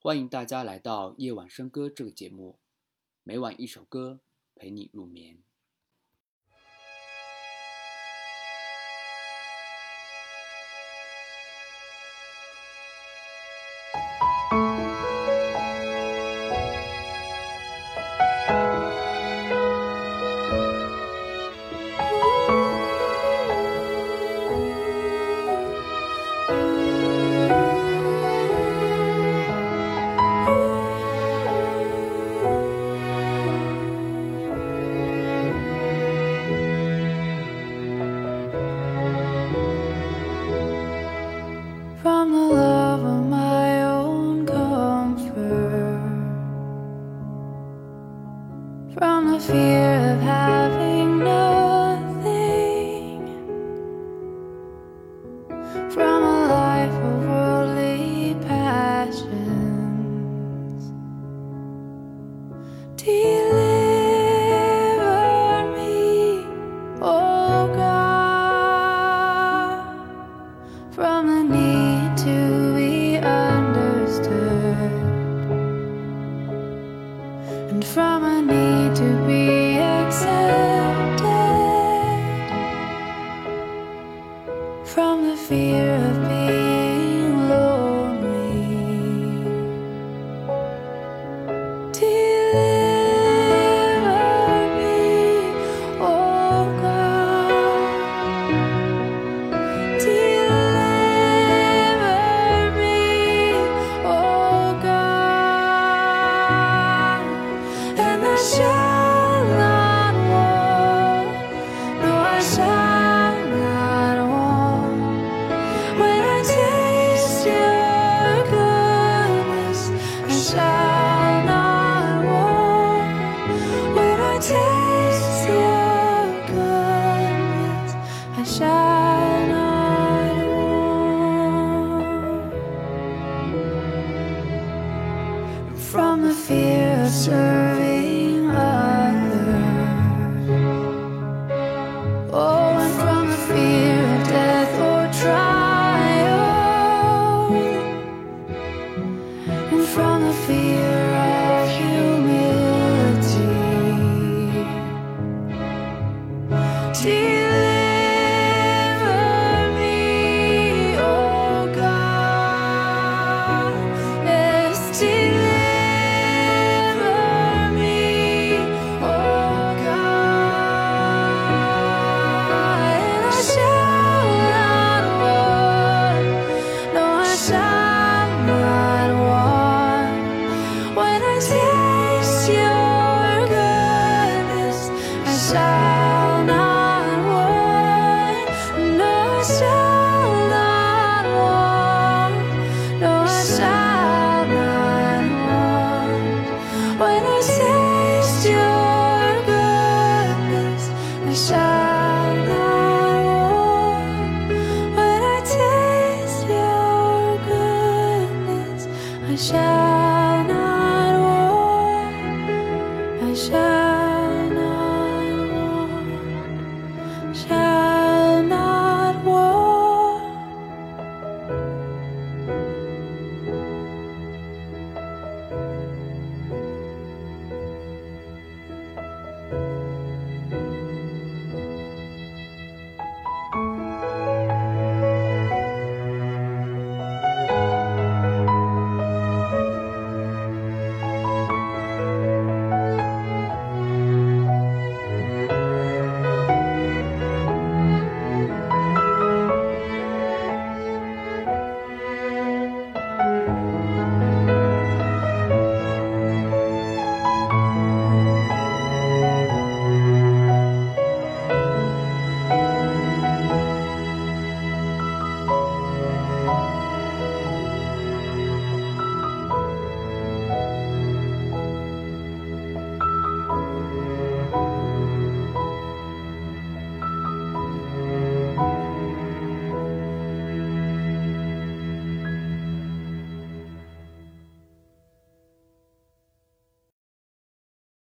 欢迎大家来到夜晚笙歌这个节目，每晚一首歌陪你入眠。 From the love of my own comfort, from the fear of having nothing, from a life of worldly passions. Deliver me, oh God, from the need to be understood, and from a need to be accepted, from the fear of being lonely. Deliver me, oh God. Deliver me, oh God, and I shall not want, no, I shall not want. When I taste your goodness, I shall not want. When I taste your goodness, I shall not want. From the fear of serving others, oh, and from the fear of death or trial, and from the fear of humility. Deliver me, oh God. Yes, deliver me, oh God. And I shall not want, no, I shall not want. When I taste your goodness, I shall not want. No, I shall not want. No, I shall not want. When I taste your goodness, I shall not want. When I taste your goodness, I shall